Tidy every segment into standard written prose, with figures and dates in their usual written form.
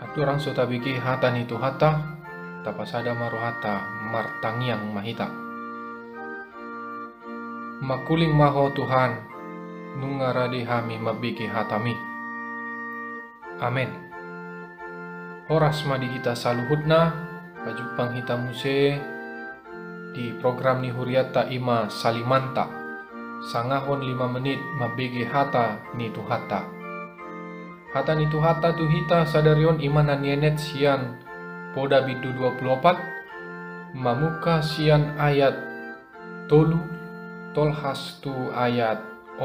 Aturang so tabiki hata nitu hata, tapasada maru hata martangiang mahita. Makuling maho Tuhan, nungaradi hami mabiki hatami. Amin. Horas madi kita saluhutna, pajupang hita muse di program ni Huriata Ima Salimanta. Sangahon 5 menit mabiki hata nitu hata. Hata nitu hata tu hita sadarion imana nienet sian poda bidu 24 mamuka sian ayat tolu tolhas tu ayat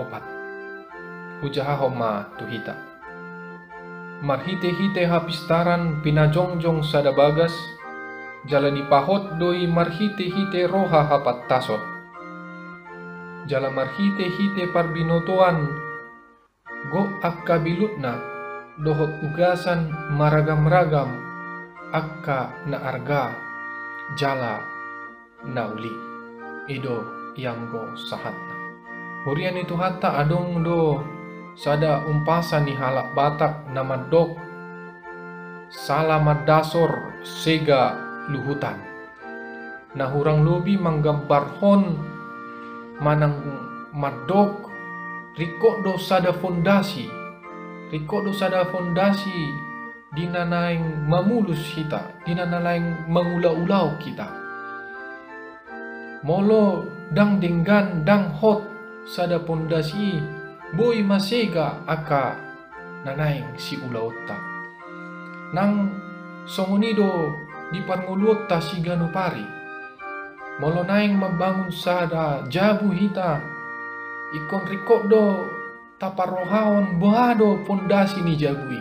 4 hujaha homa tu hita marhite-hite hapistaran pinajongjong sada bagas jalani pahot doi marhite-hite roha hapat tasot jala marhite-hite parbinotoan go akka bilutna dohot ugasan maragam-ragam akka na arga jala na uli ido yang go sahatna hurian itu hatta adong do sada umpasan ni halak batak nama dok salamat dasor sega luhutan na hurang lobi manggambar hon manang madok riko do sada fondasi dinanaing mamulus kita, dinanaing mangula-ulau kita. Molo dang denggan dang hot sada fondasi boy masega aka nanaing si ulautta. Nang songonido di parnguluta si ganupari. Molo naing membangun sada jabu hita ikon rikodo taparohaon boado fondasi ni jagui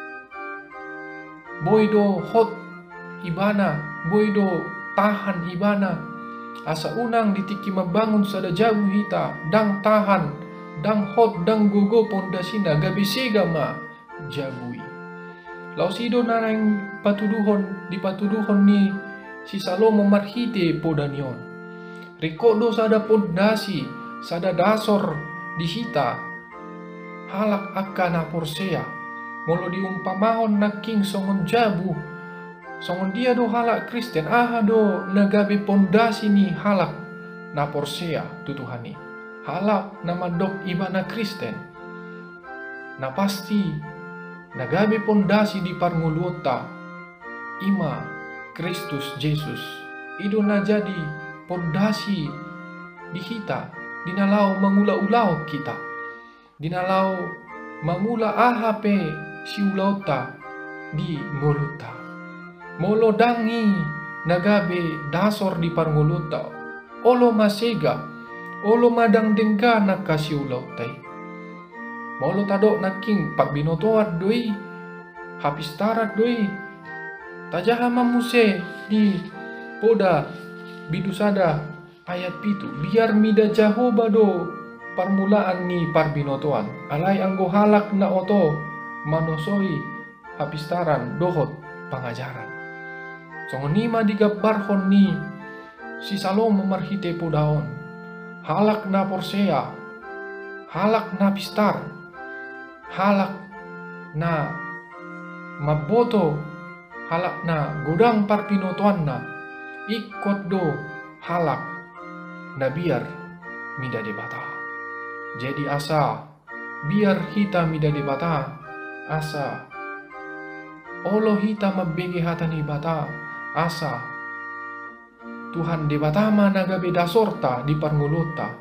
boydo hot ibana boydo tahan ibana asa unang ditiki membangun sada jagu hita dang tahan dang hot dang gogo fondasina gabi sega ma jagui lausido narang dipatuduhon ni si Salomo marhite podanion rikodo sada fondasi sada dasor di hita halak akana porsea molo diumpamahon na king songon jabu songon dia do halak Kristen do nagabe pondasi ni halak na porsea tutuhani halak na madok ibana Kristen na pasti nagabe pondasi di parnguluta ima Kristus Yesus ido na jadi pondasi di hita dinalau mangula-ulau kita dinalau mangula ahape si ulauta di ngoluta molo dangi nagabe dasor di parngoluta olo masega olo madang dengga nakasi ulautai molo tadok naking parbinotoat doi hapistarat doi tajaha mamuse di poda bidusada ayat pitu biar mida Jahoba do permulaan ni parbinotoan alai anggo halak na oto manosoi hapistaran dohot pangajaran songonima digabarhon ni si Salomo marhite podaon halak na porsea halak na pistar halak na maboto halak na godang parbinotoan na ikot do halak na biar mida debata jadi asa biar hita mida di bata asa olo hita mabege hata ni bata asa Tuhan de bata mana gabe dasorta di parnguluta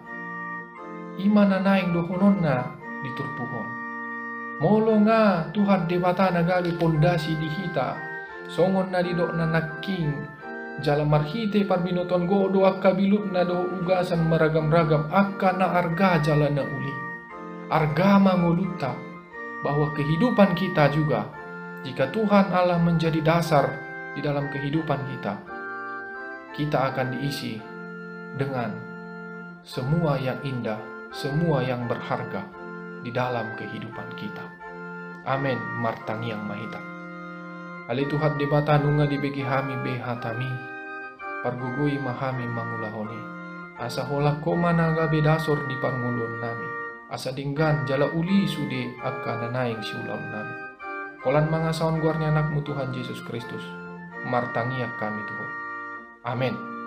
ima nanaing dohononna diturpuhon molo nga Tuhan de bata nagabe pondasi di hita songon na didok na naking jala marhite parbinoton godo akka bilut na do ugasan maragam-ragam akka na arga jala na uli arga manguluta bahwa kehidupan kita juga jika Tuhan Allah menjadi dasar di dalam kehidupan kita akan diisi dengan semua yang indah semua yang berharga di dalam kehidupan kita amin martangiang mahita Ali Tuhan debata nunga dibegi hami behatami pargugui mahami mangulahoni asa holak koma naga bedasor di parngulun nami asa dinggan jala uli sude akka nanaing siulam nami Kolan mangasaon guarnya anakmu Tuhan Yesus Kristus. Martangia kami Tuhan. Amin.